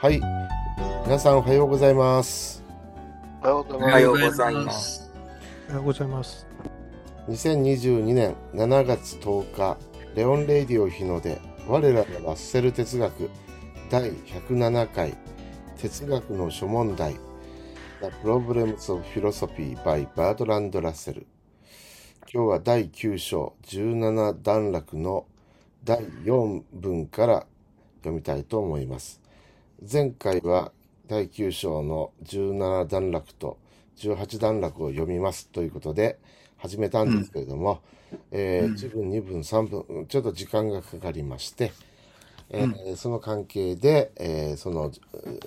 はい。皆さんおはようございます。 おはようごおざいます。 はようございます。 おはようございます。 2022年7月10日、レオンレイディオ日の出、我らがラッセル哲学第107回哲学の諸問題 The Problems of Philosophy by Bertrand Russell。今日は第9章17段落の第4文から読みたいと思います。前回は第9章の17段落と18段落を読みますということで始めたんですけれども、1分、2分、3分、ちょっと時間がかかりまして、その関係で、その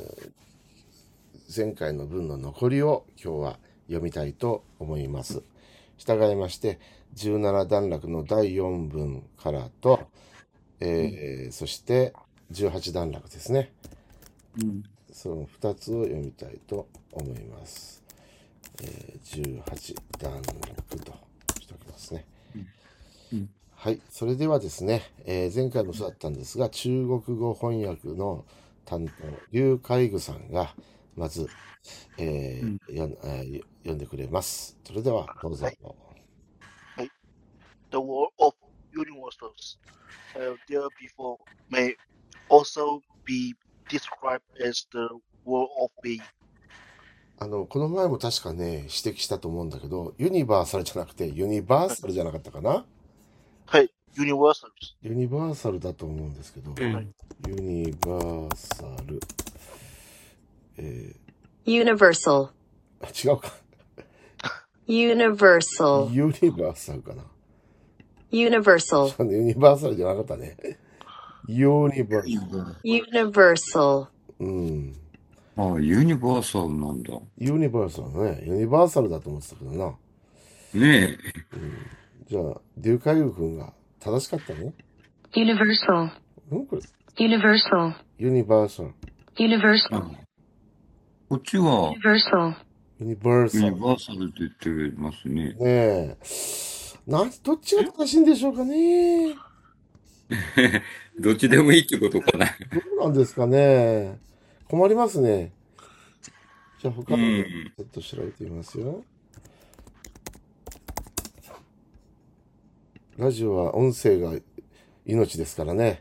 前回の文の残りを今日は読みたいと思います。従いまして17段落の第4文からと、そして18段落ですね。その2つを読みたいと思います。18段落としておきますね。はい。それではですね、前回もそうだったんですが、中国語翻訳の担当、劉海愚さんが、まず、読んでくれます。それでは、どうぞ。 The world of universals, there before, may also be described as the world of being. この前も確かね、指摘したと思うんだけど、ユニバーサルじゃなくて、ユニバーサルじゃなかったかな？ はい、universals。 ユニバーサルだと思うんですけど、ユニバーサル、 Universal. 違うか。 Universal. ユニバーサルかな。 Universal. ユニバーサルじゃなかったね。ユニバーサル。 Universal. ああ、ユニバーサルなんだ。 ユニバーサルね。ユニバーサルだと思ってたけどな。 ねえ。 じゃあ、デューカイユ君が正しかったね。 Universal. これ。 Universal. ユニバーサル。 Universal. こっちは Universal. ユニバーサル。 ユニバーサルって言ってますね。 ねえ。どっちが正しいんでしょうかね。 どっちでもいいってことかな。 どうなんですかね。困りますね。じゃあ他のちょっと調べてみますよ。ラジオは音声が命ですからね。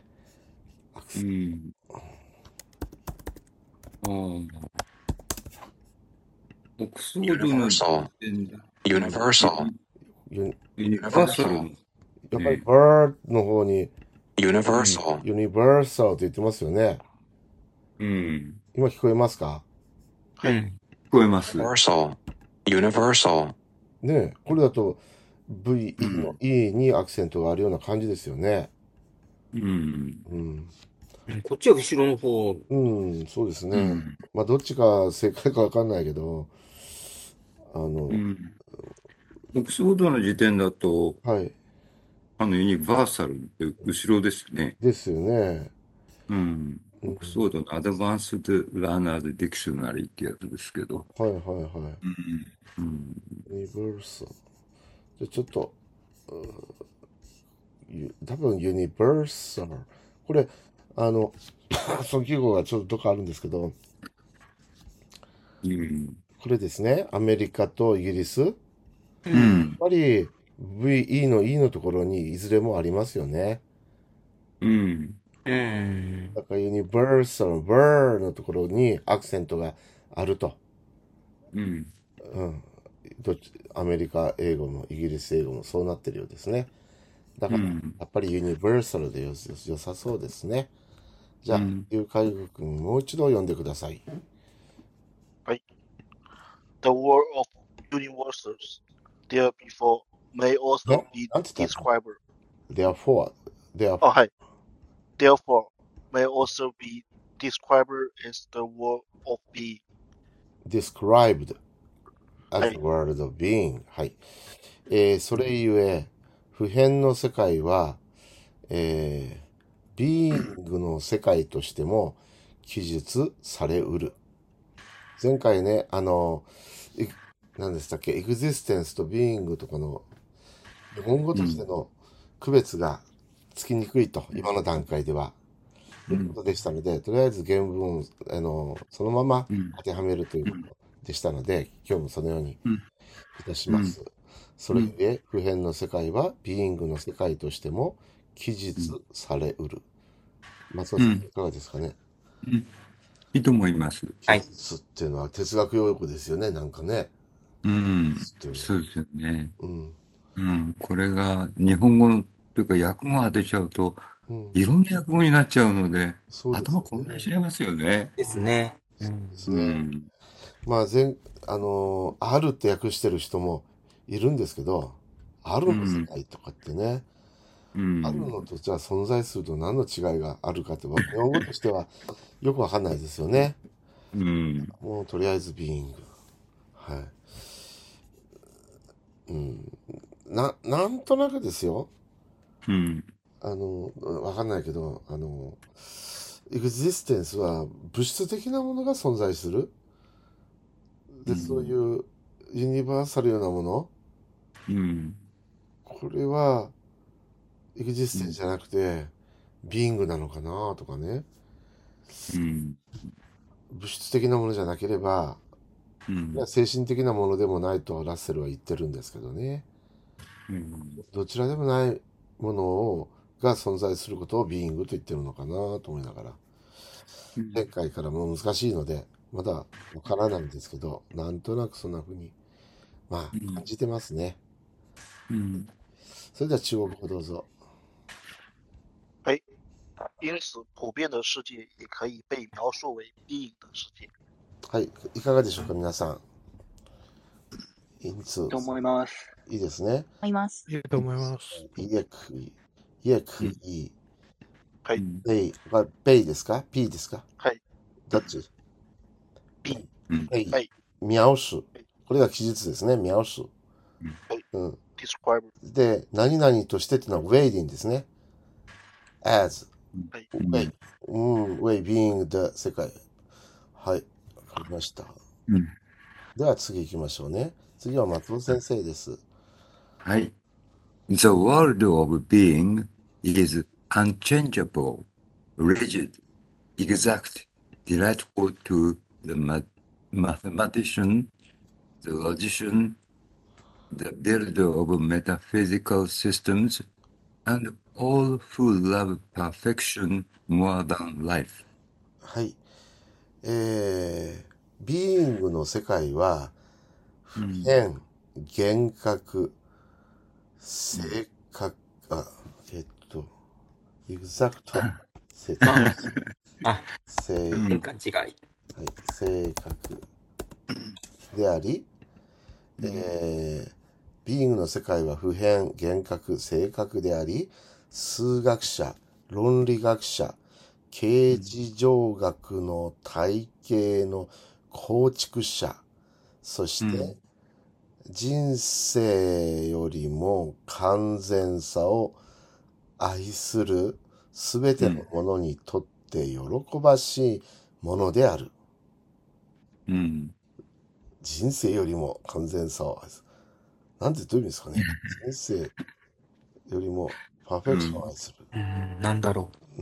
オックスフォードの時点で。 Universal. ユニバーサル。 やっぱりバーの方に Universal. ユニバーサルって言ってますよね。今聞こえますか？ はい。 聞こえます。 Universal. Universal. ねえ、これだと V の E にアクセントがあるような感じですよね。 こっちは後ろの方。 そうですね。まあどっちが正解かわかんないけど、 オックスフォードの時点だと、 はい。 ユニバーサルって後ろですね。 ですよね。 オックスフォードのアドバンスドラーナーズディクショナリーってやつですけど。 はいはいはい。ユニバーサル。じゃあちょっと、多分ユニバーサル。これ、その記号がちょっとどっかあるんですけど、これですね、アメリカとイギリス。やっぱり VE の E のところにいずれもありますよね。だからユニバーサル、バーのところにアクセントがあると。アメリカ英語もイギリス英語もそうなってるようですね。だから、やっぱりユニバーサルで良さそうですね。じゃあ、劉海愚君もう一度読んでください。 はい。The world of universals, there before, may also be described. Therefore, はい。Therefore, may also be described as the world of being. described as the world of being。はい。それゆえ、普遍の世界は、ビーイングの世界としても記述されうる。前回ね、何でしたっけ、エグジステンスとビーイングとかの日本語としての区別がつきにくいと、今の段階では。 ということでしたので、とりあえず原文をそのままうん。 当てはめるということでしたので、今日もそのようにうん。 いたします。それゆえ、普遍の世界はビーイングの世界としても記述されうる。松尾さん、いかがですかね。 うん。いいと思います。 はい記述っていうのは哲学用語ですよね、なんかね。 うん。 記述っていうのは。 そうですよね。 うん。 これが日本語というか訳語当てちゃうと、 うん。 いろんな訳語になっちゃうので、 そうですよ頭混乱ね。 しちゃいますよね。 ですね。 ですうね。 ん。 まあ、あるって訳してる人もいるんですけど、あるの世界とかってね、 うあるん。 のとじゃあ存在すると何の違いがあるかって、日本語としてはよくわかんないですよね。 うん。 もうとりあえずビーイング。はい。なんとなくですよ。 うん。 わかんないけど、エグジステンスは物質的なものが存在する。で、そういうユニバーサルようなもの、 うん。 これはエグジステンスじゃなくて、ビーイングなのかなとかね。 うん。 物質的なものじゃなければ、 うん。 精神的なものでもないとラッセルは言ってるんですけどね。どちらでもないものが存在することをビーイングと言ってるのかなと思いながら。前回からも難しいので、まだわからないんですけど、なんとなくそんな風に、まあ、感じてますね。 うん。 それでは中国語どうぞ。 因此，普遍的世界也可以被描述为必应的世界。 はい、いかがでしょうか、皆さん。因此、 と思います。 いいですね。 思います。 いいと思います。 也可以。也可以。 はい。 ベイですか ?P ですかはい。 どっち B。 ベイ。 はい。 描述。これが記述ですね。描述。 はい。describe。 で、何々としてっていうのは way でいいんですね。as。 はい。 way。way being the 世界。はい。わかりました。では次行きましょうね。次は松尾先生です。 はい。The world of being is unchangeable, rigid, exact, delightful to the mathematician, the logician, the builder of metaphysical systems, and all who love perfection more than life. はい。ビーイングの世界は、普遍、厳格、正確、エグザクト、正勘違い。 正確であり、ビーイングの世界は普遍、厳格、正確であり、数学者、論理学者、形而上学の体系の構築者、そして人生よりも完全さを愛するすべてのものにとって喜ばしいものである。人生よりも完全さを愛する。なんてどういう意味ですかね。人生よりもパーフェクションを愛する。 なんだろう。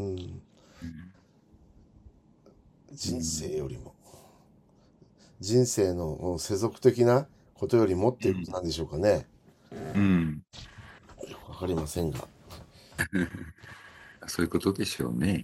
人生よりも。人生の世俗的なことよりもっていうことなんでしょうかね。よくわかりませんが。 そういうことでしょうね。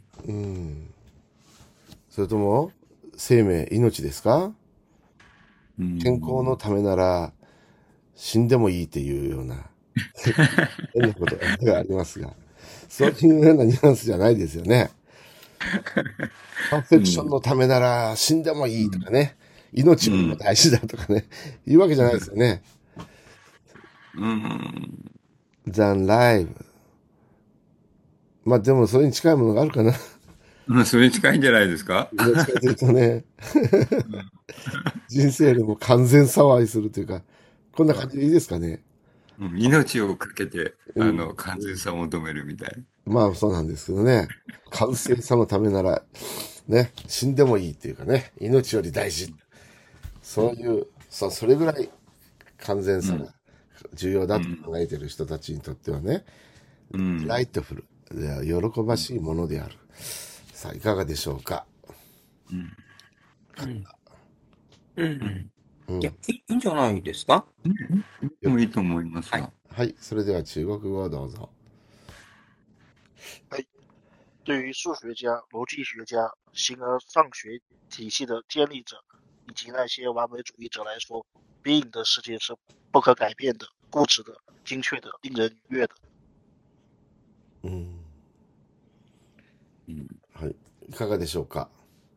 それとも、生命、命ですか？健康のためなら死んでもいいっていうような変なことがありますが、そういうようなニュアンスじゃないですよね。パーフェクションのためなら死んでもいいとかね、命よりも大事だとかね、言うわけじゃないですよね。than life。まあでもそれに近いものがあるかな。 それに近いんじゃないですか？ どっちかというとね、人生よりも完全さを愛するというか、こんな感じでいいですかね。 命をかけて、完全さを求めるみたい。 まあそうなんですけどね。完全さのためなら、ね、死んでもいいっていうかね、命より大事。そういう、それぐらい完全さが重要だと考えている人たちにとってはね、ライトフル、喜ばしいものである。 さあ、いかがでしょうか。 いや、いいんじゃないですか。 でもいいと思いますが。 はい。それでは中国語をどうぞ。 对于数学家、逻辑学家、形而上学体系的建立者，以及那些完美主义者来说，being 的世界是不可改变的、固执的、精确的、令人愉悦的。 はい。いかがでしょうか。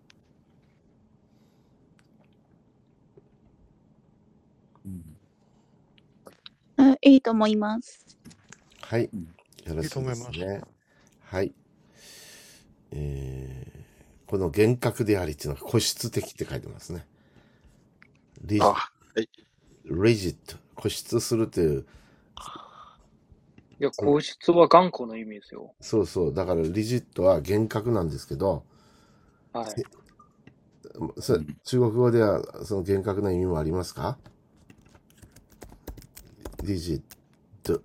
いいと思います。 はい。よろしいですいいと思いますね。はい。この厳格でありっていうのが固執的って書いてますね。リジあ、はい。 ット、固執するという、 いや、硬質は頑固の意味ですよ。 そうそう。だからリジットは厳格なんですけど、 はい。 中国語ではその厳格な意味もありますか？リジット。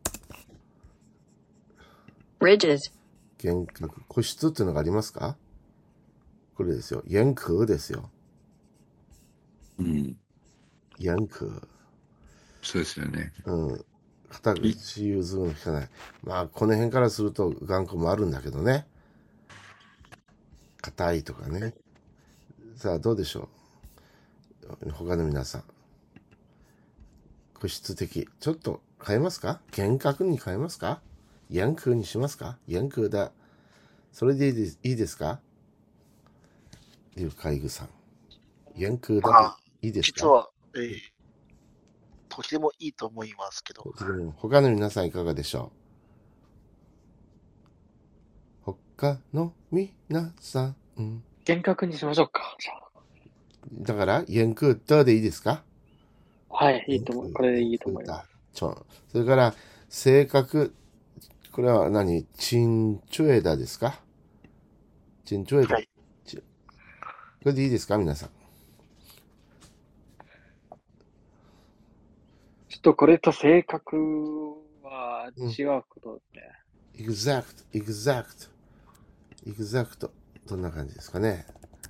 rigid, 厳格。固執っていうのがありますか？これですよ。严格ですよ。严格。 そうですよね。 肩口融通の効かない。まあ、この辺からすると頑固もあるんだけどね。硬いとかね。さあ、どうでしょう？他の皆さん。固執的。ちょっと変えますか？厳格に変えますか？严格にしますか？严格だ。それでいいですか？劉海具さん。严格だ。いいですか？ 実は、とてもいいと思いますけど。 他の皆さんいかがでしょう？他の皆さん。 厳格にしましょうか。じゃあだから、严格だでいいですか？ はい、いいと思う。これでいいと思います。 それから、性格。これは何？陳著だですか？陳著だ。 はい。 これでいいですか皆さん。 ちょっとこれと性格は違うことですね。 exact。どんな感じですかね。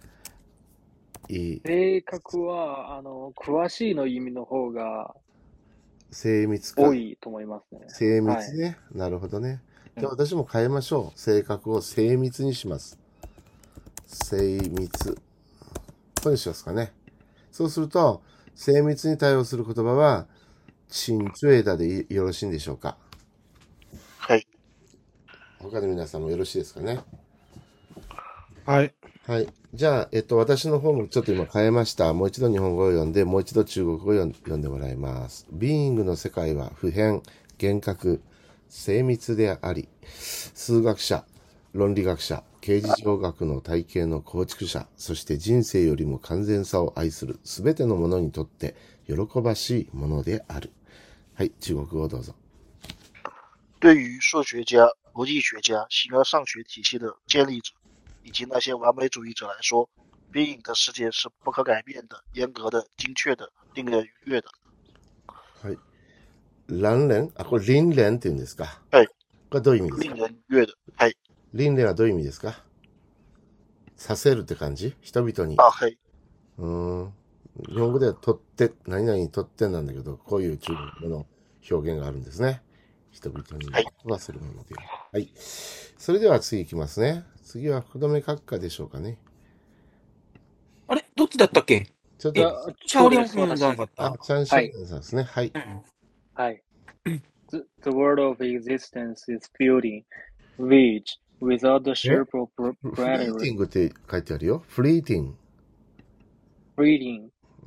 性格は、詳しいの意味の方が精密か。 多いと思いますね。 精密ね。なるほどね。じゃあ私も変えましょう。性格を精密にします。精密。これにしますかね。そうすると、精密に対応する言葉は、陳著だでよろしいんでしょうか。 はい。 他の皆さんもよろしいですかね。 はい。 はい。じゃあ、私の方もちょっと今変えました。もう一度日本語を読んで、もう一度中国語を読んでもらいます。Being の世界は普遍、厳格、精密であり、数学者、論理学者、形而上学の体系の構築者、そして人生よりも完全さを愛するすべてのものにとって喜ばしいものである。はい、中国語をどうぞ。 对于数学家、逻辑学家、形而上学体系的建立者，以及那些完美主义者来说，being 的世界是不可改变的、严格的、精确的、令人愉悦的。 はい。乱連これ輪廻って言うんですか？ はい。 これどういう意味ですか？ 令人愉悦的。はい。 輪廻はどういう意味ですか？させるって感じ？人々に。 はい。 日本語では取って、何々取ってなんだけど、こういう中国語の表現があるんですね。人々にはするもので。はい。それでは次いきますね。次は福留閣下でしょうかね。 あれどっちだったっけ？ ちょっと、 シャオリャンさんじゃなかった？ チャンシャオリャンさんですね。はい。 はい。The world of existence is fleeting, which, without the shape of フリーティングって書いてあるよ。フリーティング。 fleeting,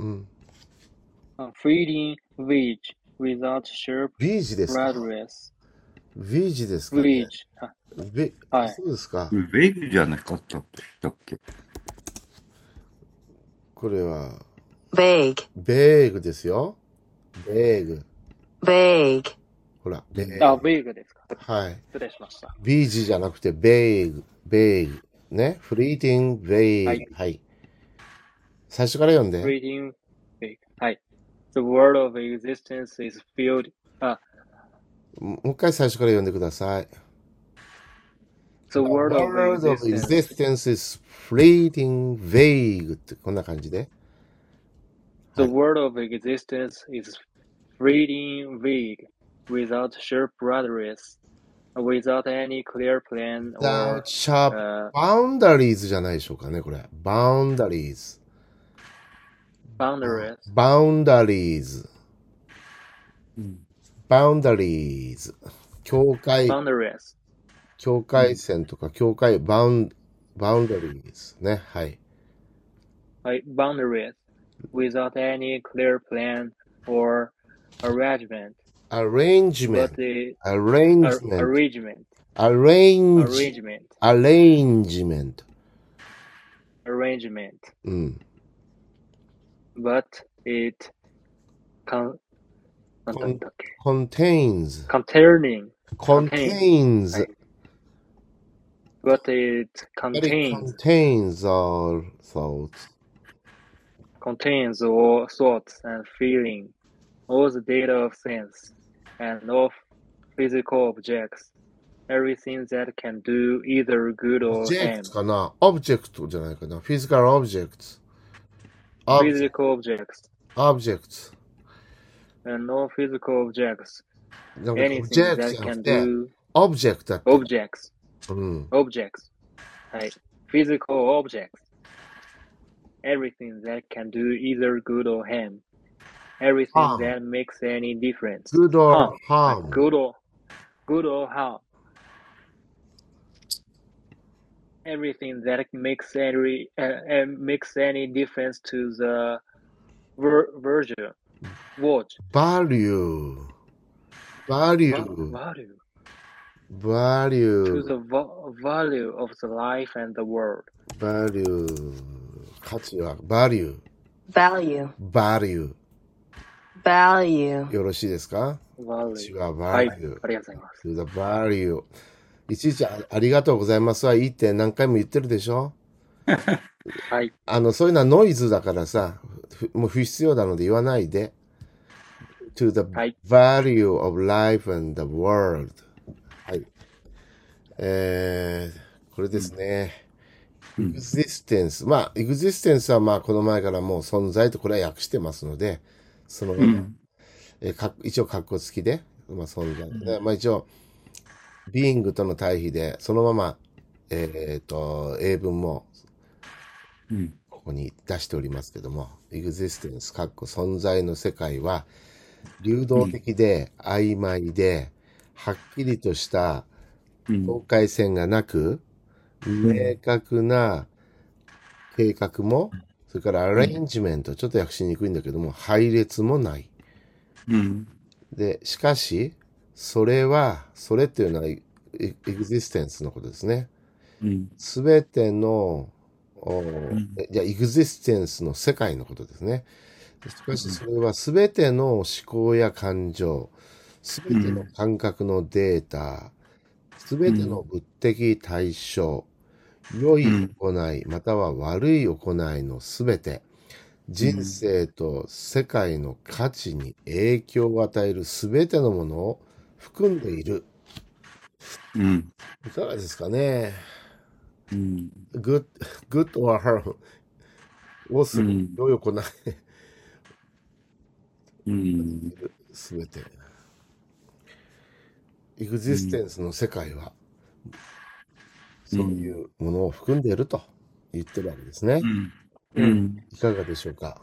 fleeting, which, without shape, ビージですか？ radius, ビージですかね？ which, はい。 そうですか。 ベイグじゃなかったっけ？ これは、 vague, ベーグですよ。ベーグ。 vague, ほら、ベーグ。 ベーグですか。 はい。 失礼しました。 ビージじゃなくて、ベーグ。ベーグ。ね。フリーティング、ベーグ。 はい。 はい。最初から読んで。 fleeting, vague. はい。The world of existence is filled. もう一回最初から読んでください。 The world of world of existence. existence is fleeting, vague ってこんな感じで。 The world of existence is fleeting, vague, without sharp boundaries, without any clear plan or without sharp boundaries じゃないでしょうかね、これ。boundaries。 boundaries. boundaries。boundaries。境界、 Boundaries. 境界線とか境界、boundaries ね。はい。 Boundaries, without any clear plan or arrangement. arrangement But the arrangement arrangement. arrangement Arrangement. Arrangement. うん。 But itなんだったっけ contains Containing. contains はい But it contains all thoughts contains all thoughts and feeling, all the data of sense, and of physical objects, everything that can do either good or harm. objects かな object じゃないかな physical objects Physical objects objects and no physical objects. なんか Anything objects that じゃな can くて do object だって objects. うん Objects. はい。Physical objects. Everything that can do either good or harm. Everything Harm. that makes any difference. good or harm Good or harm. Everything that makes any difference to the virtue. Watch. value Value. value To the value of the life and the world. value 価値は value value, value value, よろしいですか Value. 価値ははい。 value ありがとうございます。 to the value いちいちありがとうございますはいいって何回も言ってるでしょはい。 そういうのはノイズだからさもう不必要なので言わないで to the はい value of life and the world はいこれですね、existence まあ existence はまあこの前からもう存在とこれは訳してますのでそのまま、一応括弧付きで、まあ、存在で、まあ一応 being との対比でそのまま英文もここに出しておりますけども existence 括弧存在の世界は流動的で曖昧ではっきりとした境界線がなく明確な計画もそれからアレンジメントちょっと訳しにくいんだけども配列もないでしかしそれっていうのはエグジステンスのことですねすべてのじゃあエグジステンスの世界のことですねしかしそれはすべての思考や感情すべての感覚のデータすべての物的対象良い行いまたは悪い行いのすべて人生と世界の価値に影響を与えるすべてのものを含んでいる。いかがですかね。good or harm をする良い行いすべて。エグジステンスの世界はそういうものを含んでいると言ってるわけですね。いかがでしょうか。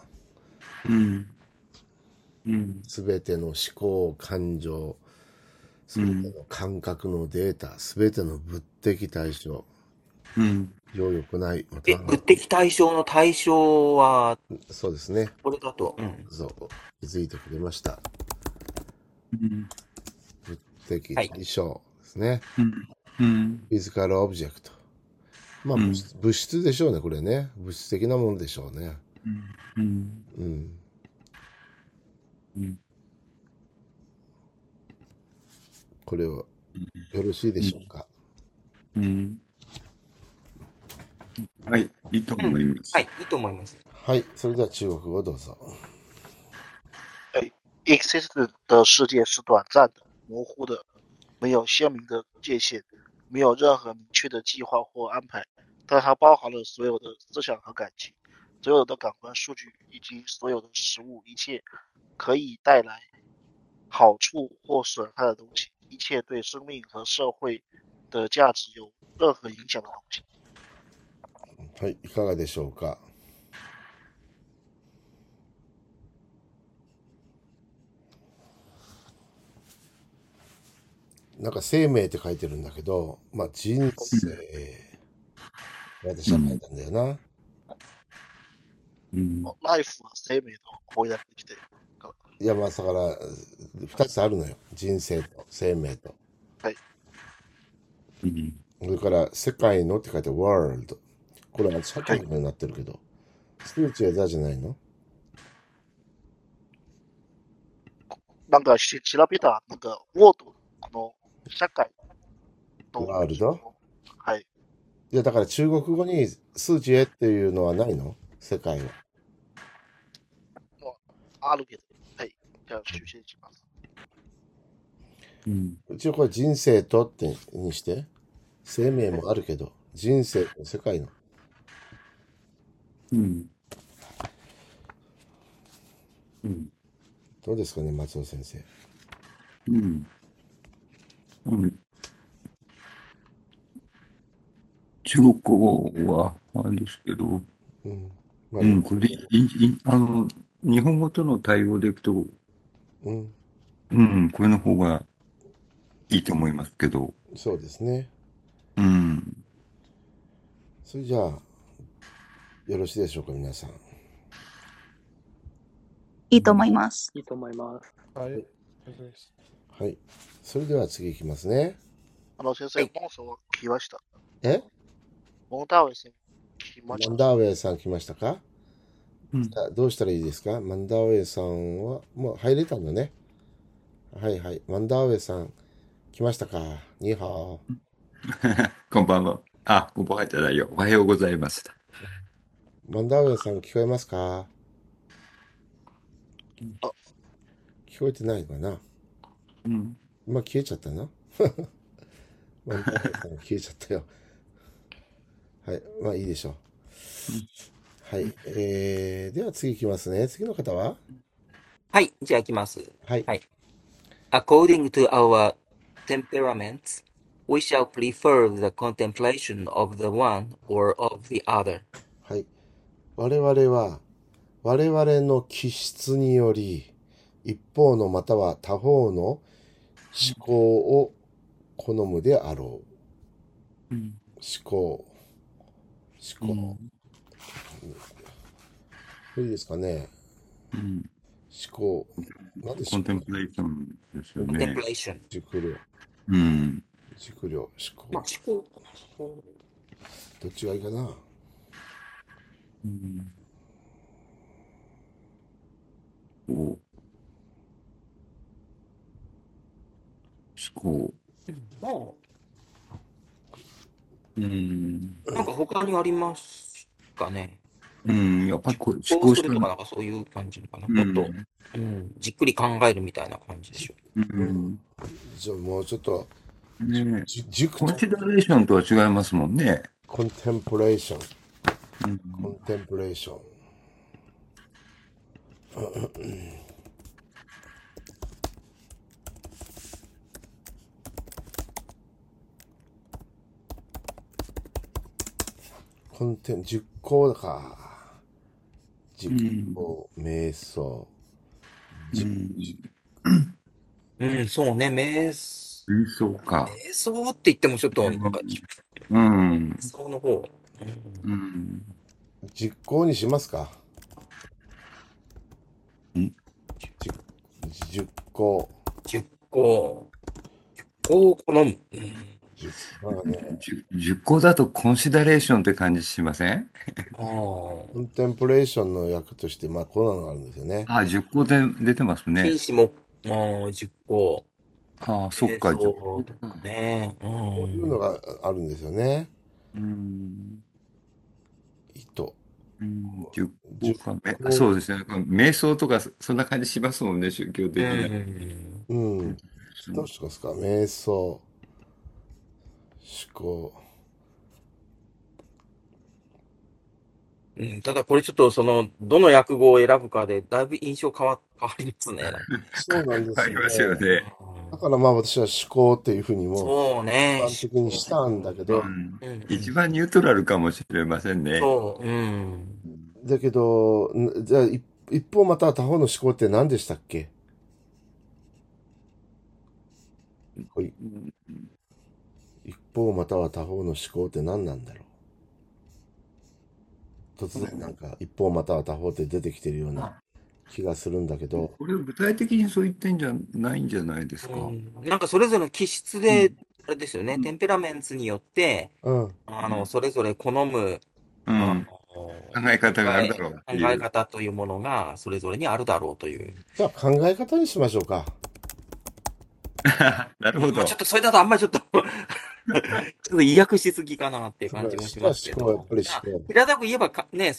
すべての思考、感情、すべての感覚のデータ、すべての物的対象、良い行い、また物的対象の対象は、 そうですね。 これだと、 そう、気づいてくれました。物的対象ですね。フィジカルオブジェクト。まあ、物質でしょうね、これね。物質的なものでしょうね。これはよろしいでしょうか。 はい、いいと思います。 はい、いいと思います。 はい、それでは中国語どうぞ。 Existence 的世界是短暂的、模糊的，没有鲜明的界限， 没有任何明确的计划或安排，但它包含了所有的思想和感情，所有的感官数据以及所有的事物，一切可以带来好处或损害的东西，一切对生命和社会的价值有任何影响的东西。 はい、いかがでしょうか。なんか生命って書いてるんだけど、まあ人生、私は書いたんだよな。 ライフは生命と翻訳できて、 いや、まあだから2つあるのよ。人生と生命と。 はい。 それから世界のって書いて world。これは社会になってるけど、数値はザじゃないの？ なんか調べた、なんか、ウォード、この社会と、 ワールド？ はい。 いや、だから中国語に数値へっていうのはないの？世界は。 あるけど、はい。じゃあ、修正します。 一応これ人生とってにして、生命もあるけど、人生と世界の。どうですかね、松尾先生。 中国語はあれですけど、これ日本語との対応でいくと、これの方がいいと思いますけど。 そうですね。それじゃあ、よろしいでしょうか、皆さん。 いいと思います。 いいと思います。 はい。 はい。それでは次いきますね。 先生、モンさんは来ました。モンダーウェイさん来ました。 マンダーウェイさん来ましたか？どうしたらいいですか？マンダーウェイさんはもう入れたんだね。はいはい。マンダーウェイさん来ましたか？ニーハオ。 こんばんは。あ、こんばんはじゃないよ。おはようございます。 マンダーウェイさん聞こえますか？聞こえてないのかな？今消えちゃったな。マンダーウェイさん消えちゃったよ。はい。まあいいでしょう。はい。では次いきますね。次の方は？ はい、じゃあ行きます。 はい。 According to our temperaments, we shall prefer the contemplation of the one or of the other. はい。我々は、我々の気質により、一方のまたは他方の思考を好むであろう。思考。いいですかね。思考。何でしょう？ コンテンプレーションですよね。 Contemplation。 熟慮。熟慮、思考。 まあ、思考。 どっちがいいかな。 思考。 なんか他にありますかね。 やっぱりこう思考するとかなんかそういう感じかな。もっと、じっくり考えるみたいな感じでしょ。 じゃあもうちょっと、 コンシダレーションとは違いますもんね。 コンテンプレーション。コンテンプレーション。実行だか。実行、瞑想。 そうね、瞑想か。 瞑想って言ってもちょっと、なんか、瞑想の方。 実行にしますか？実行。 を好む。 10個だとコンシダレーションって感じしません？ コンテンプレーションの役として、まあ、こうなのがあるんですよね。 10個で出てますね。 禁止も、10個。 そっか。 そうとかね。 こういうのがあるんですよね。 そうですね。瞑想とかそんな感じしますもんね、宗教的に。 どうしますか？瞑想、 考。 ただこれちょっとどの訳語を選ぶかでだいぶ印象変わりますね。 そうなんですありますよよね。 ね。 だからまあ私は思考っていうふうにもそうね。 一般的にしたんだけど、 一番ニュートラルかもしれませんね。 そう。 だけど、じゃあ一方または他方の思考って何でしたっけ？一方または他方の思考って何なんだろう。突然なんか一方または他方って出てきてるような気がするんだけど。 これ具体的にそう言ってんじゃないんじゃないですか。 なんかそれぞれの気質で、あれですよね、テンペラメンツによって、それぞれ好む、 考え方があるだろうっていう。 考え方というものがそれぞれにあるだろうという。 じゃあ考え方にしましょうか。 なるほど。 ちょっとそれだとあんまりちょっと意訳しすぎかなっていう感じもしますけど。平たく言えばね、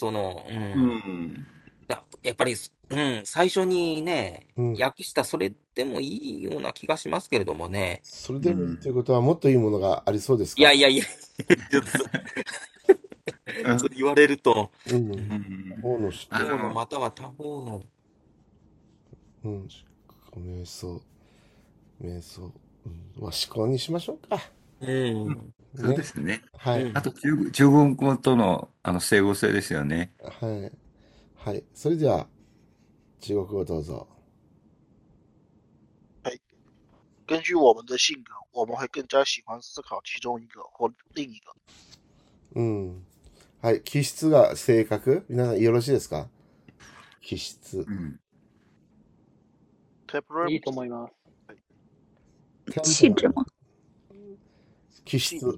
やっぱり、最初にね、訳したそれでもいいような気がしますけれどもね。 それでもいいということはもっといいものがありそうですか？ いや、ちょっとそう言われると、 他方の思考または他方の。 瞑想。まあ思考にしましょうか。 そうですね。 はい。 あと中国語との整合性ですよね。 はい。それでは中国語どうぞ。 根据我们的性格，我们会更加喜欢思考其中一个或另一个。 はい。気質が性格？皆さんよろしいですか？気質。 いいと思います。 气质吗？ 気質。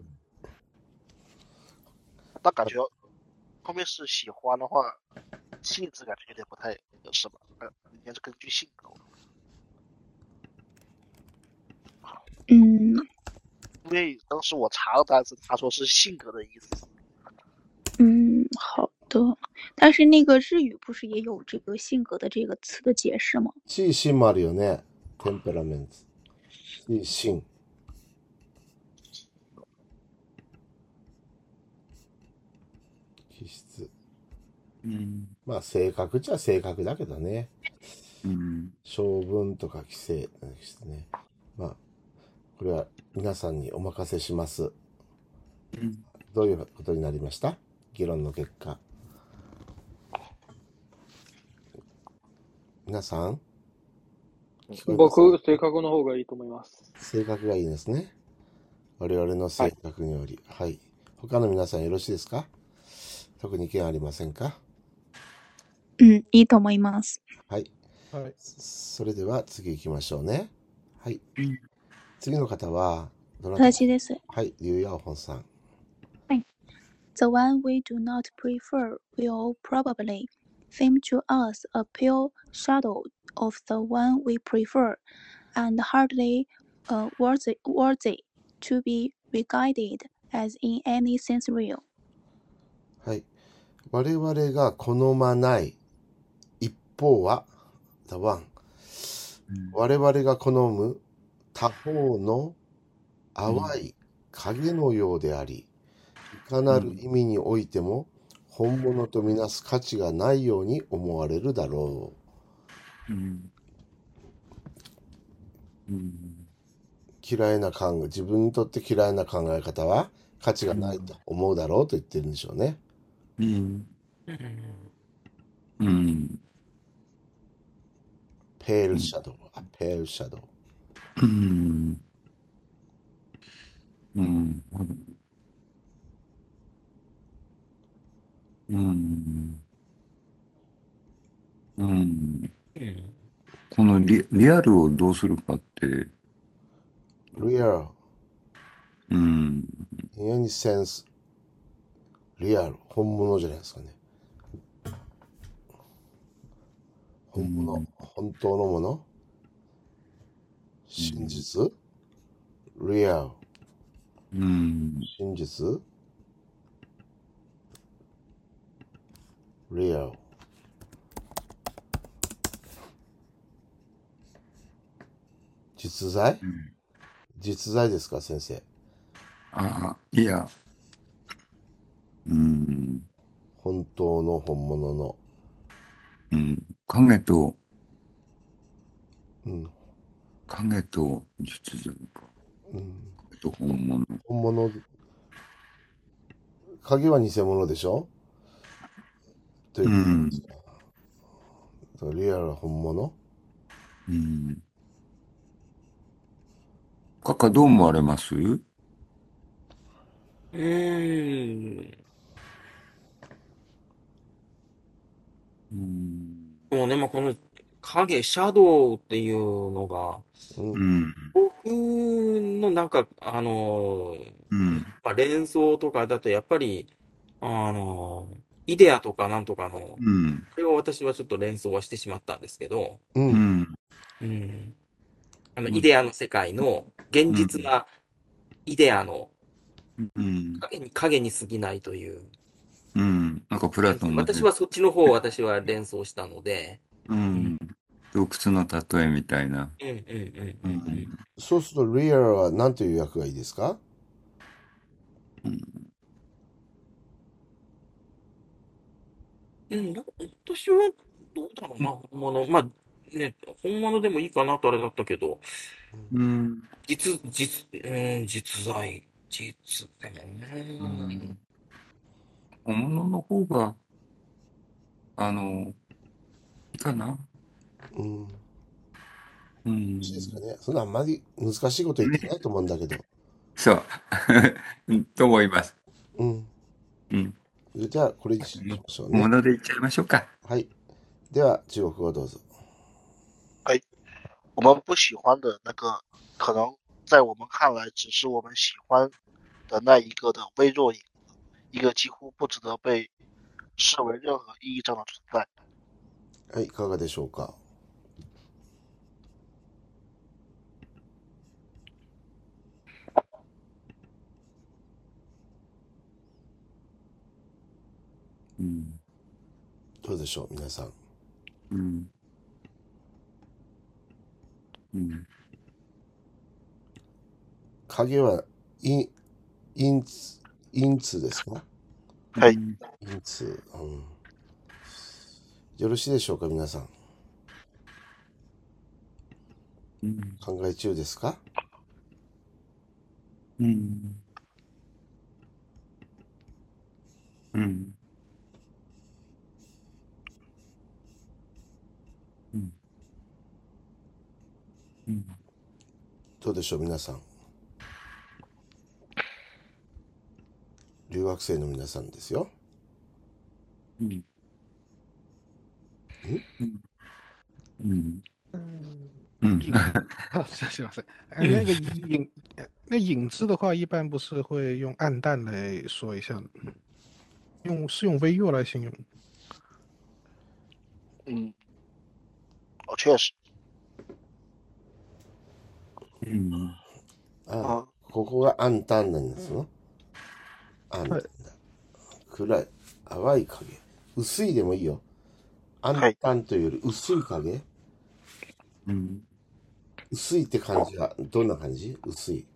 但感觉后面是喜欢的话，气质感觉有点不太合适吧？应该是根据性格。因为当时我查了单词，他说是性格的意思。 好的。但是那个日语不是也有这个性格的这个词的解释吗？ 气性もあるよね。テンペラメント。気性。気質。まあ性格っちゃ性格だけどね。性分とか規制ですね。まあこれは皆さんにお任せします。どういうことになりました？議論の結果。皆さん？ 僕、性格の方がいいと思います。 性格がいいですね。我々の性格により。はい。他の皆さんよろしいですか？特に意見ありませんか？ いいと思います。 はい。それでは次行きましょうね。はい。次の方はどなた？ 私です。 はい、劉耀本さん。 はい。The one we do not prefer will probably seem to us a pale shadow of the one we prefer, and hardly worthy to be regarded as in any sense real. はい。我々が好まない一方は、the one。我々が好む他方の淡い影のようであり、いかなる意味においても本物とみなす価値がないように思われるだろう。嫌いな自分にとって嫌いな考え方は価値がないと思うだろうと言ってるんでしょうね。ペールシャドウ。ペールシャドウ。 このリアルをどうするかって。 リアル。in any sense、リアル。本物じゃないですかね。本物。本当のもの。真実。リアル。真実。リアル。実在？実在ですか、先生。 あ、いや、 本当の本物の。 影と、 うん。 影と実像か。影と本物。 本物。影は偽物でしょということリアルは本物。 カカどう思われます？ もうね、まあ、この影、シャドウっていうのが、僕のなんか、まあ、連想とかだとやっぱり、イデアとかなんとかの、これを私はちょっと連想はしてしまったんですけど、イデアの世界の現実なイデアの影に過ぎないという。 なんかプラトンの。 私はそっちの方を私は連想したので。 洞窟の例えみたいな。 そうすると、リアルは何という訳がいいですか？ 私はどうだろうな、本物。まあ、ね、本物でもいいかなとあれだったけど、実在、実でもね。 本物の方が、いいかな。 ですかね。そんなあんまり難しいこと言ってないと思うんだけど。 そう。と思います。 じゃあ、これにしましょうね。 本物で言っちゃいましょうか。 はい。では、中国語どうぞ。 我们不喜欢的那个，可能在我们看来只是我们喜欢的那一个的微弱影子，一个几乎不值得被视为任何意义上的存在。 はい、いかがでしょうか。どうでしょう、皆さん。影は陰通ですか？ はい。 陰通。よろしいでしょうか、皆さん。考え中ですか？どうでしょう、皆さん。留学生の皆さんですよ。 是吗？那影子的话，一般不是会用暗淡来说一下，用微弱来形容。 确实。 ここが暗淡なんですよ。暗淡だ。暗い、淡い影。薄いでもいいよ。暗淡というより薄い影。薄いって感じはどんな感じ？薄い。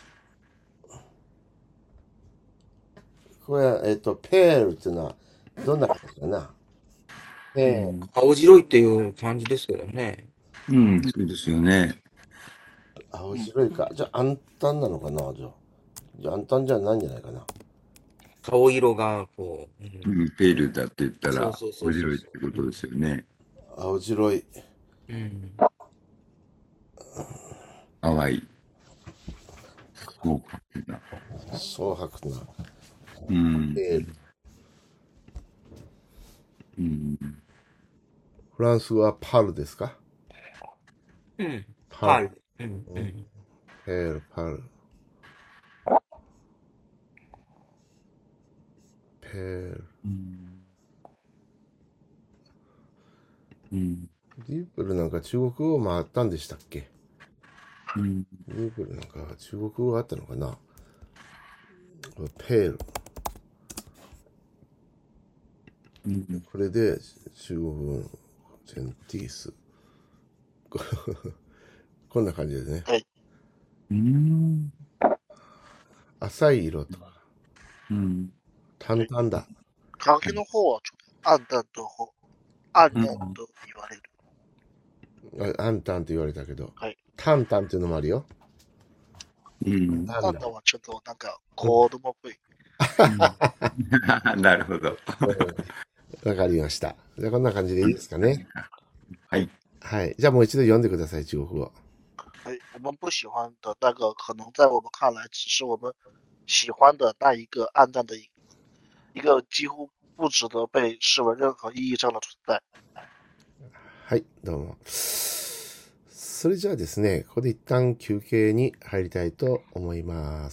これは、ペールっていうのはどんな感じかな？ 青白いっていう感じですけどね。 そうですよね。 青白いか。じゃあ暗淡なのかな？じゃあ暗淡じゃないんじゃないかな。 顔色がこう。 ペールだって言ったら、青白いってことですよね。 青白い。 淡い。 蒼白な。ペール。フランスはパルですか？ パル。 ペール、パル。ペール。ディープルなんか中国語もあったんでしたっけ？ディープルなんか中国語があったのかな？ペール。これで中国語のセンティース。こんな感じですね。 浅い色とか。淡々だ。 影の方はちょっと暗淡と言われる。 暗淡と言われたけど。 はい。 淡々っていうのもあるよ。 淡々はちょっとなんか子供っぽい。 なるほど。 わかりました。じゃあこんな感じでいいですかね。 はい。 はい。じゃあもう一度読んでください、中国語。 我们不喜欢的那个，可能在我们看来只是我们喜欢的那一个暗淡的一个几乎不值得被视为任何意义上的存在。 はい、どうも。それじゃあですね、ここで一旦休憩に入りたいと思います。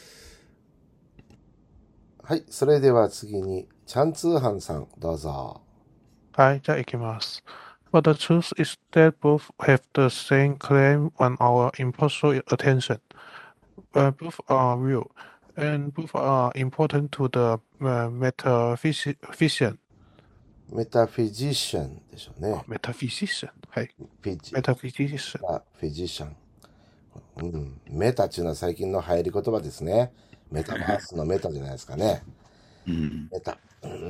はい、それでは次に、チャンツーハンさん、どうぞ。 はい、じゃあ行きます。But the truth is that both have the same claim on our impartial attention. Both are real, and both are important to the metaphysician. メタフィジシャンでしょうね。 メタフィジシャン。はい。 メタフィジシャン。 メタフィジシャン。 メタっていうのは最近の流行り言葉ですね。メタバースのメタじゃないですかね。メタ。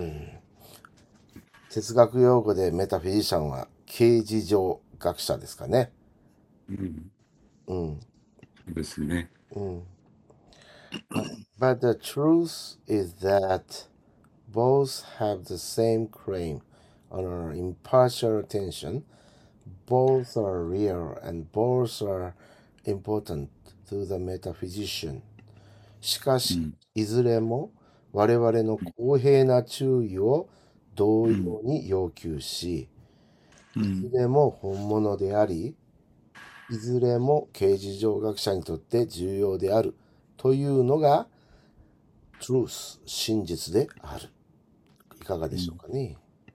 哲学用語でメタフィジシャンは形而上学者ですかね。 ですね。 But the truth is that both have the same claim on our impartial attention. Both are real and both are important to the metaphysician. しかし、いずれも我々の公平な注意を同様に要求し、いずれも本物であり、いずれも形而上学者にとって重要であるというのが truth 真実である。いかがでしょうかね。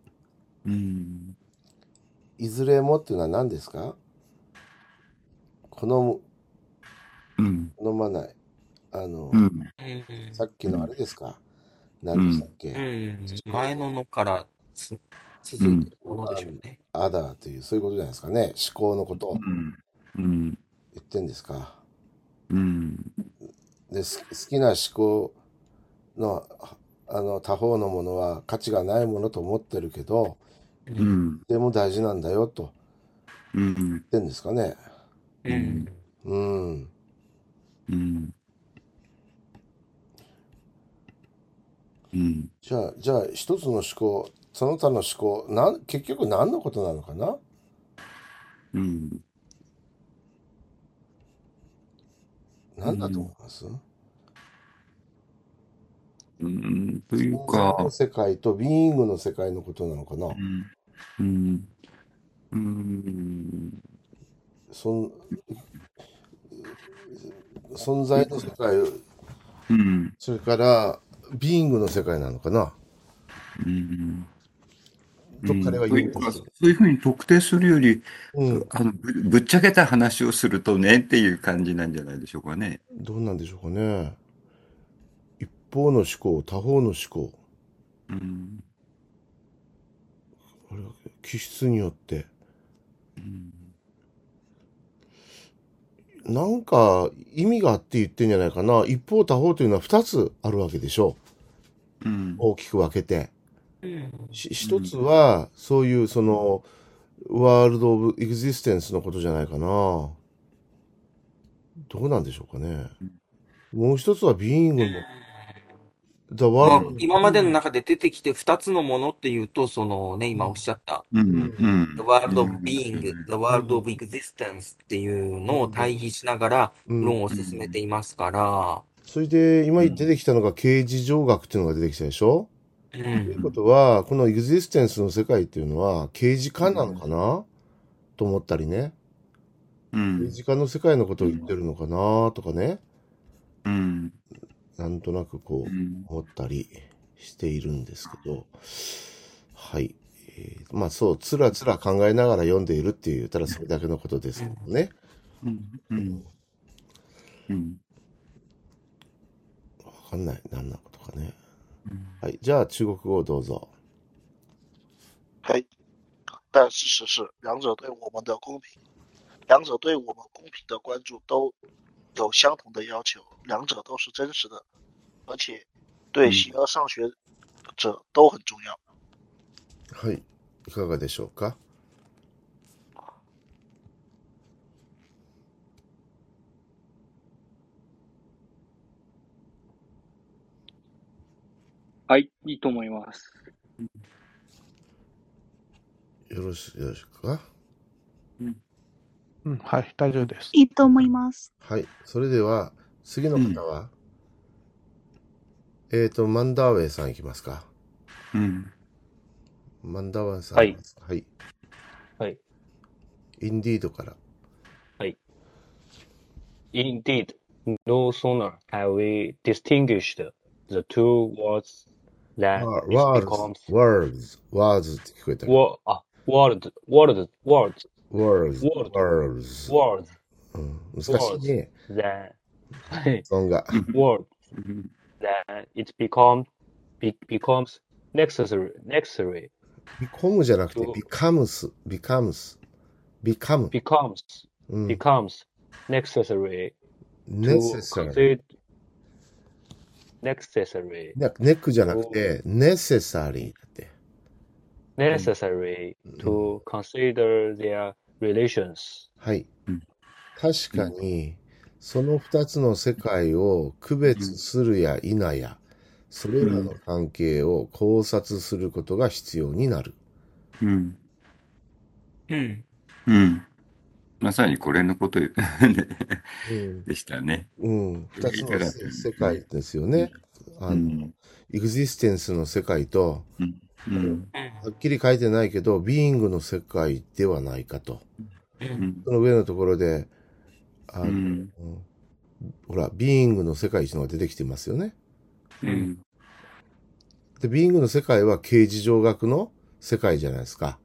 いずれもっていうのは何ですか？好まない。さっきのあれですか？何でしたっけ？ 前のから続いてるものでしょうね。 アダーという、そういうことじゃないですかね。思考のことを言ってんですか。で、好きな思考の他方のものは価値がないものと思ってるけど、でも大事なんだよと言ってんですかね。じゃあ一つの思考、その他の思考、結局何のことなのかな？何だと思います？ というか、 の世界とビーイングの世界のことなのかな？存在の世界、それからビーイングの世界なのかな？と彼は言うんです。 そういうふうに特定するより、ぶっちゃけた話をするとねっていう感じなんじゃないでしょうかね。 どうなんでしょうかね。一方の思考、他方の思考。あれは気質によって。なんか意味があって言ってんじゃないかな。一方他方というのは2つあるわけでしょう。大きく分けて。一つはそういうそのワールド・オブ・エグジステンスのことじゃないかな。どうなんでしょうかね。もう一つはビーイングの今までの中で出てきて2つのものっていうと、そのね、今おっしゃった、The World of Being, The World of Existence っていうのを対比しながら論を進めていますから。 それで今出てきたのが形而上学っていうのが出てきたでしょ？ということは、このエグジステンスの世界っていうのは形而化なのかなと思ったりね。形而化の世界のことを言ってるのかなとかね。なんとなくこう思ったりしているんですけど、はい。まあそう、つらつら考えながら読んでいるって言ったらそれだけのことですけどね。わかんない。何なことかね。はい。じゃあ中国語をどうぞ。 はい。但事实是，两者对我们公平的关注都有相同的要求，两者都是真实的，而且对形而上学者都很重要。 はい、いかがでしょうか。 はい、いいと思います。 よろしいか。 はい、大丈夫です。 いいと思います。 はい、それでは次の方は、マンダーウェイさんいきますか。マンダーウェイさん。 はい。 はい。 はい。 インディードから。 はい。Indeed, no sooner have we distinguished the two words than it becomes words って聞こえた。 words 難しいね。 発音が。words that it becomes necessary. become じゃなくて becomes necessary necessary ネックじゃなくて necessary だって。 necessary to consider their relations. はい。確かに、その二つの世界を区別するや否や、それらの関係を考察することが必要になる。 まさにこれのことでしたね。 二つの世界ですよね。エグジステンスの世界と、はっきり書いてないけど、ビーイングの世界ではないかと。その上のところで、ほら、ビーイングの世界っていうのが出てきてますよね。で、ビーイングの世界は形而上学の世界じゃないですか。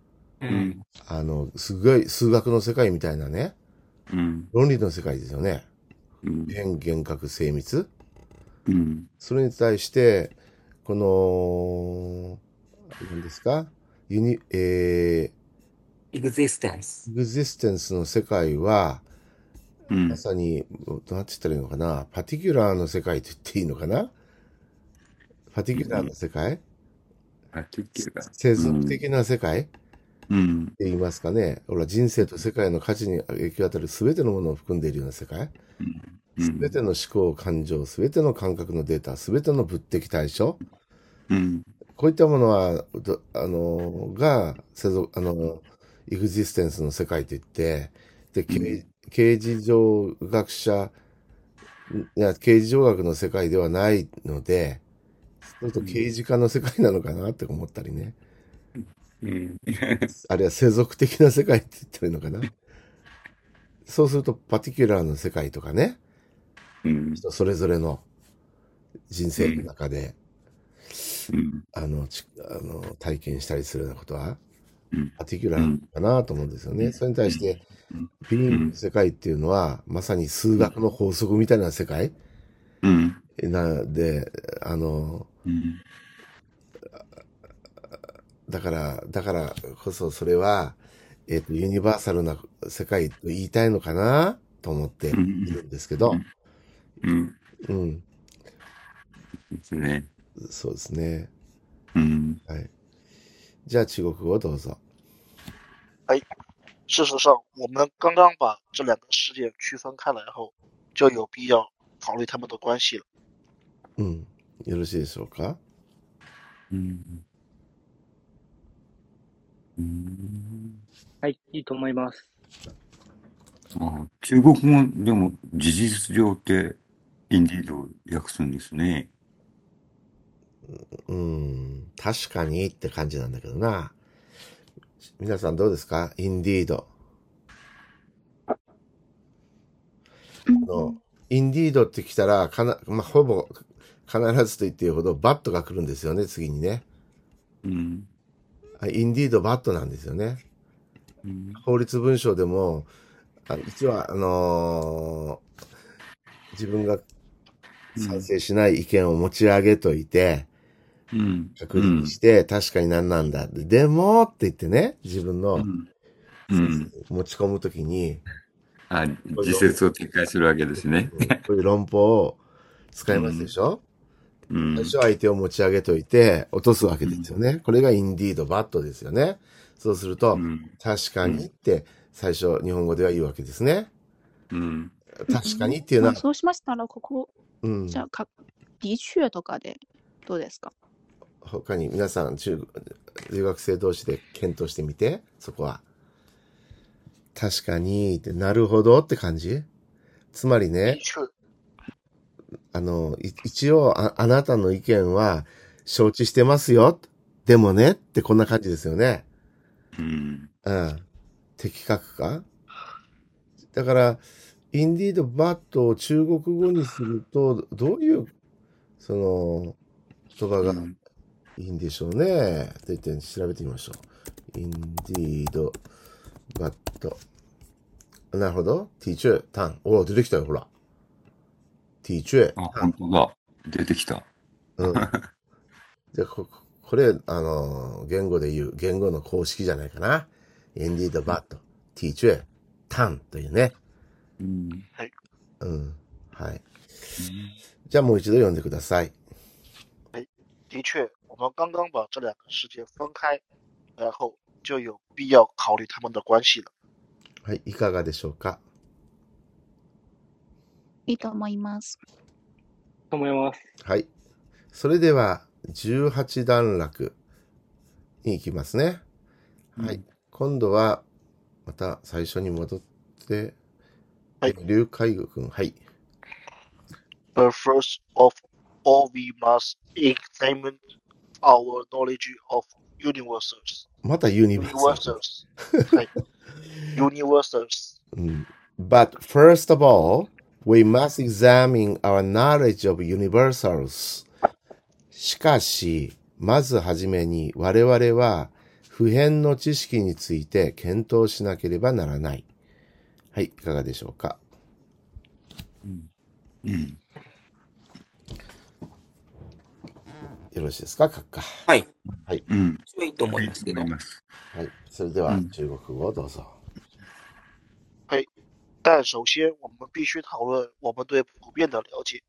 すごい数学の世界みたいなね。論理の世界ですよね。変、幻覚、精密。それに対して、この、何ですかエグジステンスの世界は、まさに、どうやって言ったらいいのかな、パティキュラーの世界と言っていいのかな。パティキュラーの世界、世俗的な世界、って言いますかね。ほら、人生と世界の価値に影響を与える全てのものを含んでいるような世界。全ての思考、感情、全ての感覚のデータ、全ての物的対象。こういったものは、エグジステンスの世界といって、で、形而上学者、形而上学の世界ではないので、ちょっと刑事化の世界なのかなって思ったりね。あるいは世俗的な世界って言ったらいいのかな。そうすると、パティキュラーの世界とかね、人それぞれの人生の中で、体験したりするようなことは、パティキュラーかなと思うんですよね。それに対して、ビーイングの世界っていうのは、まさに数学の法則みたいな世界で、だからこそそれは、ユニバーサルな世界と言いたいのかなと思っているんですけど。 ですね。 そうですね。はい。じゃあ中国語どうぞ。 はい。事实上，我们刚刚把这两个事件区分开来后，就有必要考虑他们的关系了。 よろしいでしょうか。 はい、いいと思います。 中国語でも事実上ってインディードを訳すんですね。 確かにって感じなんだけどな。皆さんどうですか？インディード。インディードって来たら、ほぼ必ずと言っていいほどバットが来るんですよね、次にね。インディードバットなんですよね。法律文章でも、一応自分が賛成しない意見を持ち上げといて、確認して、確かに何なんだ。でもって言ってね、自分の、持ち込むときに、 あ、自説を展開するわけですね。 こういう論法を使いますでしょ、最初相手を持ち上げといて落とすわけですよね。これが indeed but ですよね。そうすると、確かにって最初日本語では言うわけですね。確かにっていうのは。 そうしましたら、ここ、じゃあ、的確とかでどうですか？ 他に皆さん留学生同士で検討してみて、そこは。確かにって、なるほどって感じ？つまりね、一応あなたの意見は承知してますよ。でもねってこんな感じですよね。的確か？だから、indeed but を中国語にすると、どういう、言葉がいいんでしょうね。って言って調べてみましょう。indeed but。なるほど。teacher、単。お、出てきたよ、ほら。teacher。 あ、本当だ。出てきた。 で、これ、言語で言う、言語の公式じゃないかな。indeed but、teacher、単というね。 はい。 はい。じゃあもう一度読んでください。 的确，我们刚刚把这两个世界分开，然后就有必要考虑他们的关系了。 はい、いかがでしょうか？ いいと思います。 と思います。 はい。それでは、18段落に行きますね。はい。今度は、また最初に戻って、 はい。 劉海軍君、はい。 But first of all, we must examine our knowledge of universals. またユニバーサル。 はい。universals. But first of all, we must examine our knowledge of universals. しかし、まずはじめに我々は普遍の知識について検討しなければならない。はい、いかがでしょうか？よろしいですか、閣下。 はい。 はい。 そういいと思いますけど。 はい。それでは、中国語をどうぞ。 はい。但首先，我们必须讨论我们对普遍的了解。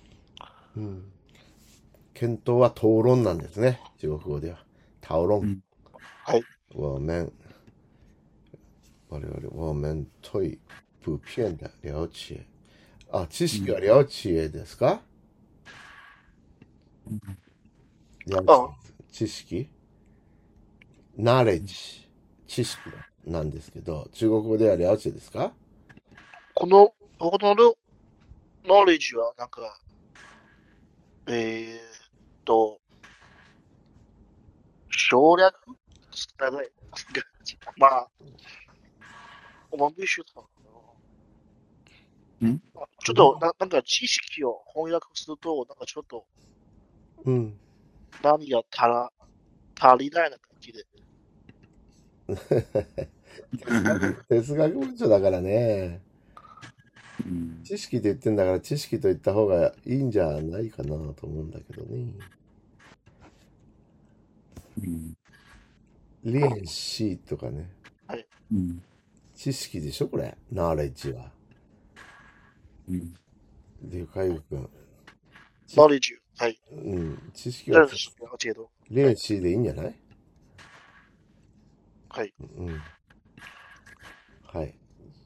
検討は討論なんですね。中国語では。討論。 はい。 我々对普遍的了解。あ、知識は了解ですか？知識？ knowledge。知識なんですけど、中国語では了解ですか？ この knowledge はなんか、省略大概まあ、我们必须讨論。ちょっとなんか知識を翻訳すると、なんかちょっと、何が足りないな感じで。 哲学文書だからね。知識って言ってんだから知識と言った方がいいんじゃないかなと思うんだけどね。練習とかね。 はい。 知識でしょこれ。ナレッジは。で、海部君。 ナレッジ。はい。 知識は。 練習でいいんじゃない？ はい。 はい。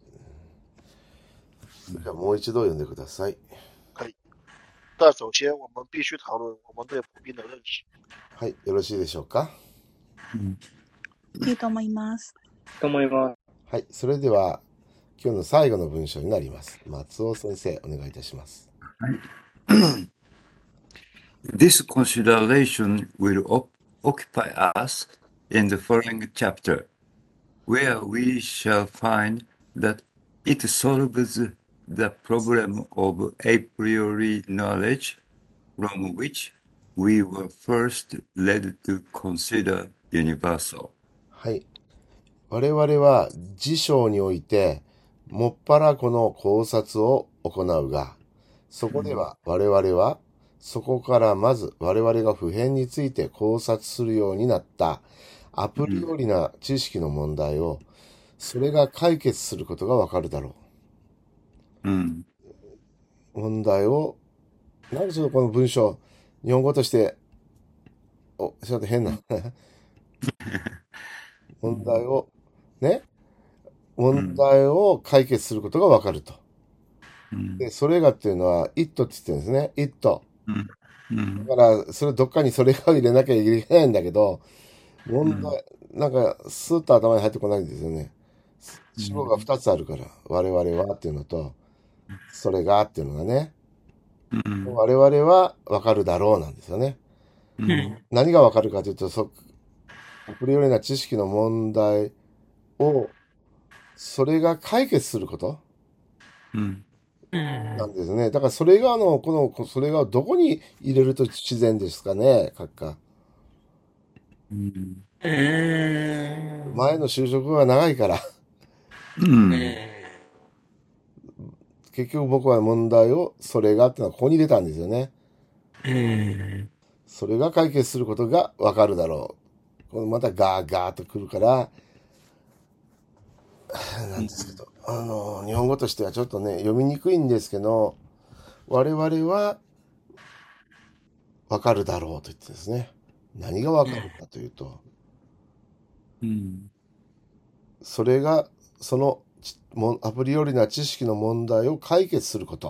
じゃあもう一度読んでください。 はい。但首先我们必须讨論我们对普遍的認識。 はい。よろしいでしょうか？ いいと思います。 と思います。 はい。それでは、今日の最後の文章になります。松尾先生、お願いいたします。 はい。This consideration will occupy us in the following chapter, where we shall find that it solves the problem of a priori knowledge from which we were first led to consider universal. はい。我々は辞書において、もっぱらこの考察を行うが、そこでは我々は、そこからまず我々が普遍について考察するようになったアプリオリな知識の問題を、それが解決することがわかるだろ問題を、なんでちょっとこの文章、日本語として、ちょっと変な問題を、ね、問題を解決することがわかると。で、それがっていうのは、it って言ってるんですね。it。だから、どっかにそれがを入れなきゃいけないんだけど、問題、なんか、スーッと頭に入ってこないんですよね。主語が2つあるから、我々はっていうのと、それがっていうのがね、我々はわかるだろうなんですよね。何がわかるかというと、アプリよりな知識の問題を、それが解決することなんですね。だからそれがそれがどこに入れると自然ですかね、閣下。前の就職が長いから。結局僕は問題を、それがっていうのはここに入れたんですよね。それが解決することがわかるだろう。このまたガーガーと来るから、なんですけど、日本語としてはちょっとね、読みにくいんですけど、我々はわかるだろうと言ってですね。何がわかるかというと、それが、そのアプリよりな知識の問題を解決すること。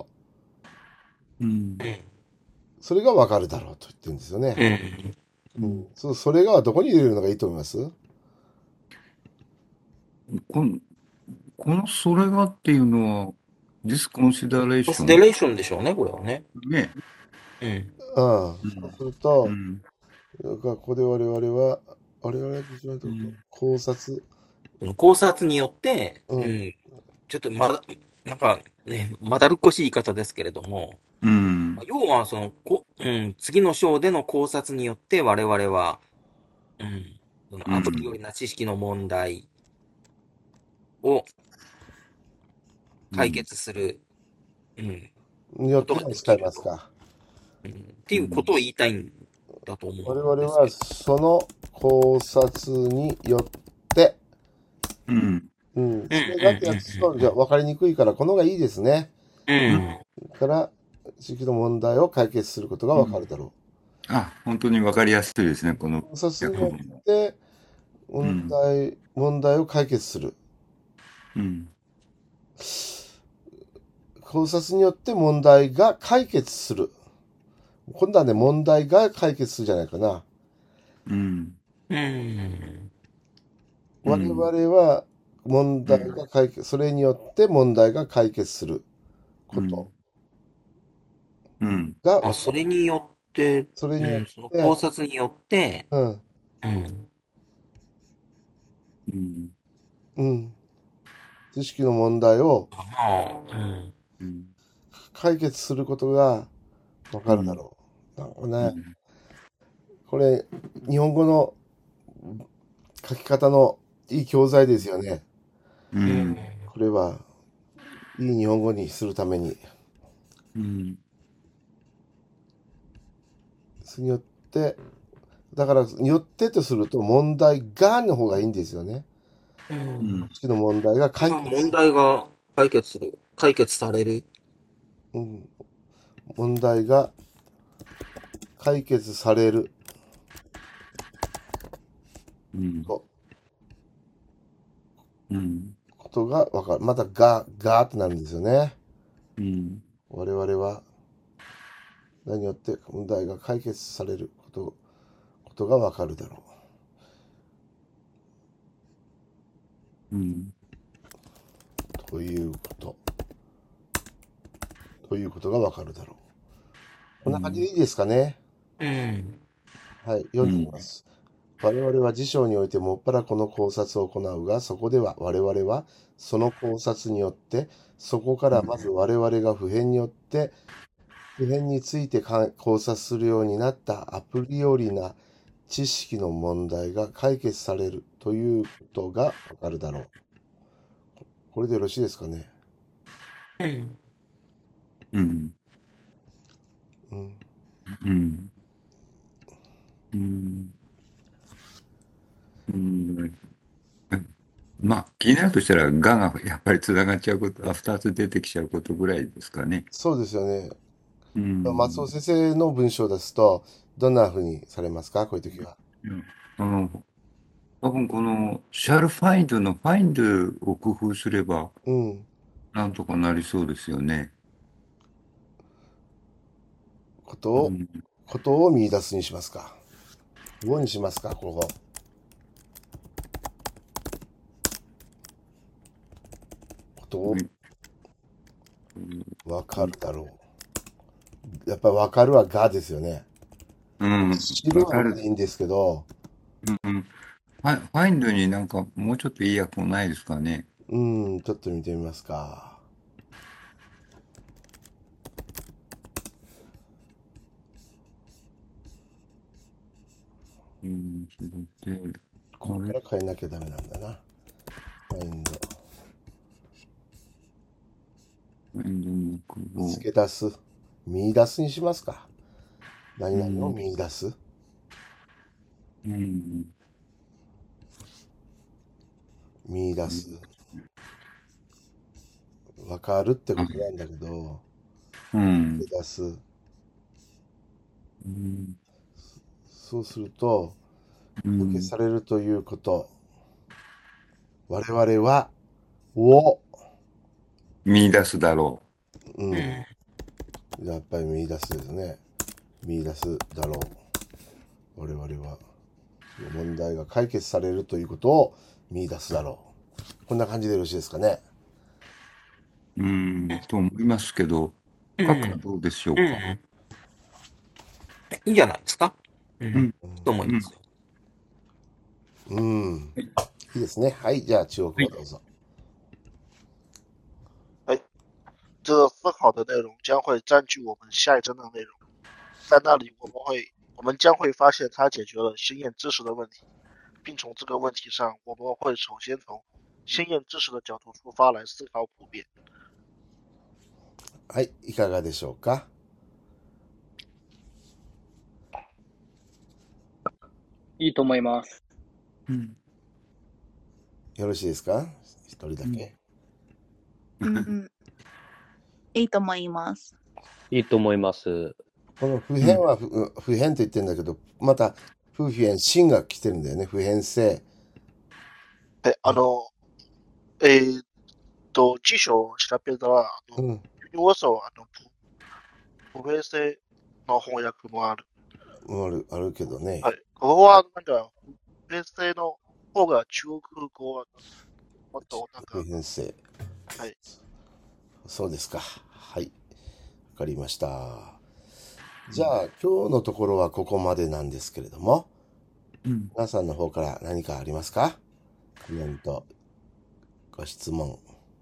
それがわかるだろうと言ってるんですよね。それがどこに入れるのがいいと思います？ このそれがっていうのは、ディスコンシダレーション。 コンシダレーションでしょうね、これはね。 ね。 そうすると、ここで我々は考察。 考察によって、ちょっとなんかね、まだるっこしい言い方ですけれども、要は次の章での考察によって我々は、そのアプリよりな知識の問題を解決する、 によって使いますか。 っていうことを言いたいんだと思うんですけど。 我々はその考察によって、それがってやつと、じゃあ分かりにくいから、この方がいいですね。から、地域の問題を解決することが分かるだろう。 本当に分かりやすいですね、この。 考察によって、問題を解決する。考察によって問題が解決する。今度はね、問題が解決するじゃないかな。我々は問題が解決、それによって問題が解決することが、 それによって、その考察によって、 知識の問題を解決することがわかるだろう。なんかね、これ、日本語の書き方のいい教材ですよね。これは、いい日本語にするために。それによって、だから、によってとすると、問題がの方がいいんですよね。知識の問題が解決問題が解決する。解決される。 問題が解決される。ことがわかる。またがってなるんですよね。我々は何によって問題が解決されることがわかるだろう。ということがわかるだろう。こんな感じでいいですかね。はい、読んでみます。我々は辞書においてもっぱらこの考察を行うが、そこでは我々はその考察によって、そこからまず我々が普遍によって、普遍について考察するようになったアプリよりな知識の問題が解決されるということがわかるだろう。これでよろしいですかね。 まあ、 気になるとしたら、ががやっぱりつながっちゃうこと、2つ出てきちゃうことぐらいですかね。 そうですよね。松尾うん。 先生の文章ですと、どんな風にされますか、こういう時は。 多分この、shall find の find を工夫すれば、 うん。 なんとかなりそうですよね。 ことを、 うん。 ことを見出すにしますか。をにしますか、ここ。ことをわかるだろう。やっぱりわかるはがですよね。 うん。 知るはでいいんですけど、 うん。find になんかもうちょっといい訳もないですかね。 ちょっと見てみますか。 それで、 ここから変えなきゃダメなんだな。見つけ出す。見出すにしますか。何々を見出す。見出す。わかるってことなんだけど、見出す。そうすると、受けされるということ。我々は、を見出すだろう。やっぱり見出すですね。見出すだろう。我々は、問題が解決されるということを見出すだろう。こんな感じでよろしいですかね。 と思いますけど、書くはどうでしょうか。 いいんじゃないですか。と思いますよ。 いいですね。はい、じゃあ中国語どうぞ。 这分好的内容将会占据我们下一章的内容，在那里我们将会发现它解决了心验知识的问题，并从这个问题上，我们会首先从心验知识的角度出发来思考普遍。 はい、いかがでしょうか。 いいと思います。 よろしいですか。一人だけ。 いいと思います。 いいと思います。 この普遍は普遍と言ってるんだけど、また不普遍、真が来てるんだよね。普遍性。 辞書を調べたら、ユニバーサル普遍性の翻訳もある。 あるけどね。 はい。ここはなんか、普遍性の方が中国語はもっとなんか。 普遍性。 はい。 そうですか。はい。わかりました。じゃあ、今日のところはここまでなんですけれども、皆さんの方から何かありますか？コメント、ご質問。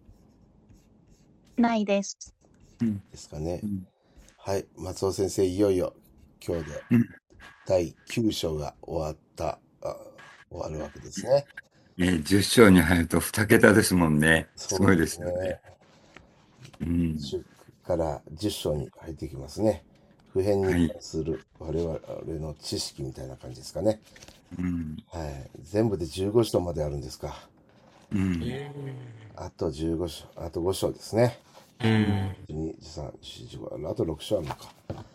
ないです。 ですかね。はい。松尾先生、いよいよ今日で第9章が終わるわけですね。 10章に入ると2桁ですもんね。すごいですよね。 10から10章に入ってきますね。普遍に関する我々の知識みたいな感じですかね。はい。全部で15章まであるんですか。あと15章、あと5章ですね。2、3、4、5、あと6章あるのか。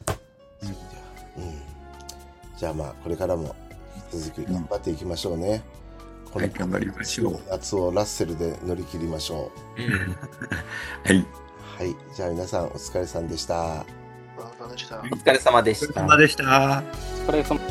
じゃあまあ、これからも続き頑張っていきましょうね。 はい、頑張りましょう。 夏をラッセルで乗り切りましょう。 はい。 はい。じゃあ皆さんお疲れさんでした。 お疲れ様でした。 お疲れ様でした。 お疲れ様。